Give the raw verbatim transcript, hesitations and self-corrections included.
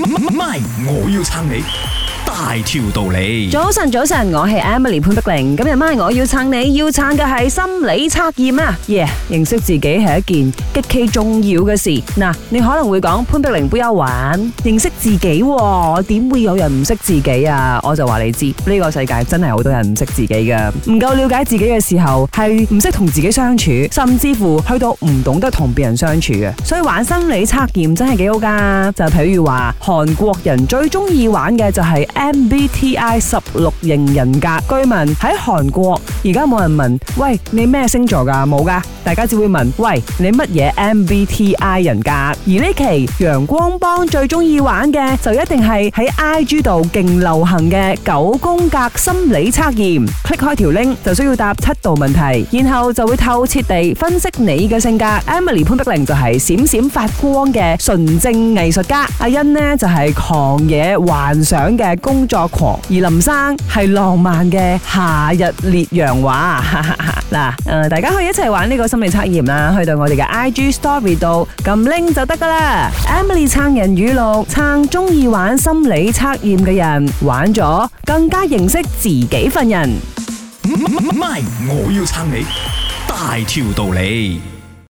咪，我要撐你大條道理。 早晨，早晨，我係 Emily 潘碧玲。今日咪我要撐你，要撐嘅係心理測驗啊！耶、yeah, 認識自己係一件極其重要嘅事。嗱，你可能會講潘碧玲不要玩，認識自己、啊，點會有人唔識自己啊？我就話你知，呢、這個世界真係好多人唔識自己㗎，唔夠了解自己嘅時候，係唔識同自己相處，甚至乎去到唔懂得同別人相處嘅。所以玩心理測驗真係幾好噶。就譬如話，韓國人最中意玩嘅就係 M B T I 十六型人格。據聞喺韓國而家冇人問，喂，你咩星座噶？冇噶，大家只會問，喂，你乜嘢 M B T I 人格？而呢期陽光幫最中意玩嘅就一定係喺 I G 度勁流行嘅九宮格心理測驗。click 開條 link 就需要答七道問題，然後就會透徹地分析你嘅性格。Emily 潘碧玲就係閃閃發光嘅純正藝術家，阿欣呢就係狂野幻想嘅工作狂，而林生係浪漫嘅夏日烈陽華。嗱，誒，大家可以一齊玩呢個心理測驗啦，去到我哋嘅 I G Story 度撳 link 就得噶啦。Emily 撐人語錄，撐中意玩心理測驗嘅人，玩咗更加認識自己份人。 咪，我要撐你大條道理。